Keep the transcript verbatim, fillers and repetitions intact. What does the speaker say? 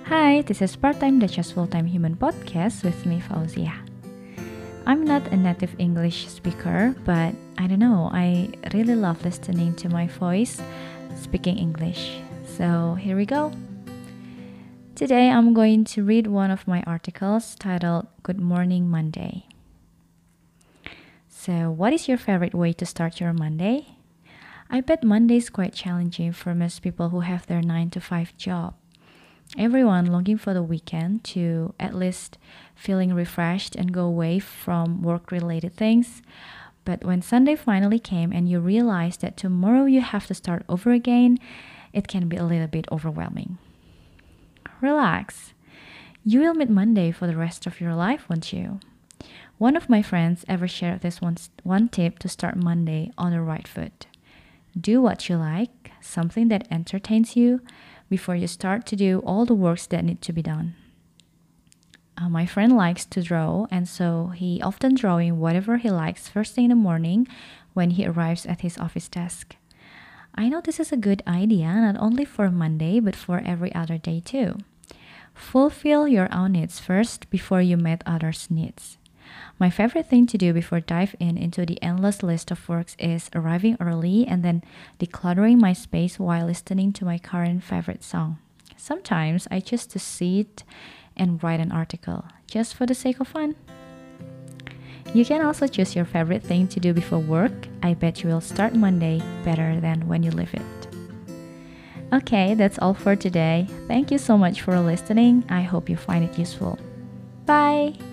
Hi, this is Part-Time Duchess Full-Time Human Podcast with me, Fauzia. I'm not a native English speaker, but I don't know, I really love listening to my voice speaking English. So here we go. Today I'm going to read one of my articles titled Good Morning Monday. So, what is your favorite way to start your Monday? I bet Monday is quite challenging for most people who have their nine to five job. Everyone longing for the weekend to at least feeling refreshed and go away from work-related things. But when Sunday finally came and you realize that tomorrow you have to start over again, it can be a little bit overwhelming. Relax. You will meet Monday for the rest of your life, won't you? One of my friends ever shared this one, one tip to start Monday on the right foot. Do what you like, something that entertains you, before you start to do all the works that need to be done. Uh, my friend likes to draw, and so he often drawing whatever he likes first thing in the morning when he arrives at his office desk. I know this is a good idea, not only for Monday, but for every other day too. Fulfill your own needs first before you meet others' needs. My favorite thing to do before dive in into the endless list of works is arriving early and then decluttering my space while listening to my current favorite song. Sometimes I choose to sit and write an article, just for the sake of fun. You can also choose your favorite thing to do before work. I bet you will start Monday better than when you leave it. Okay, that's all for today. Thank you so much for listening. I hope you find it useful. Bye!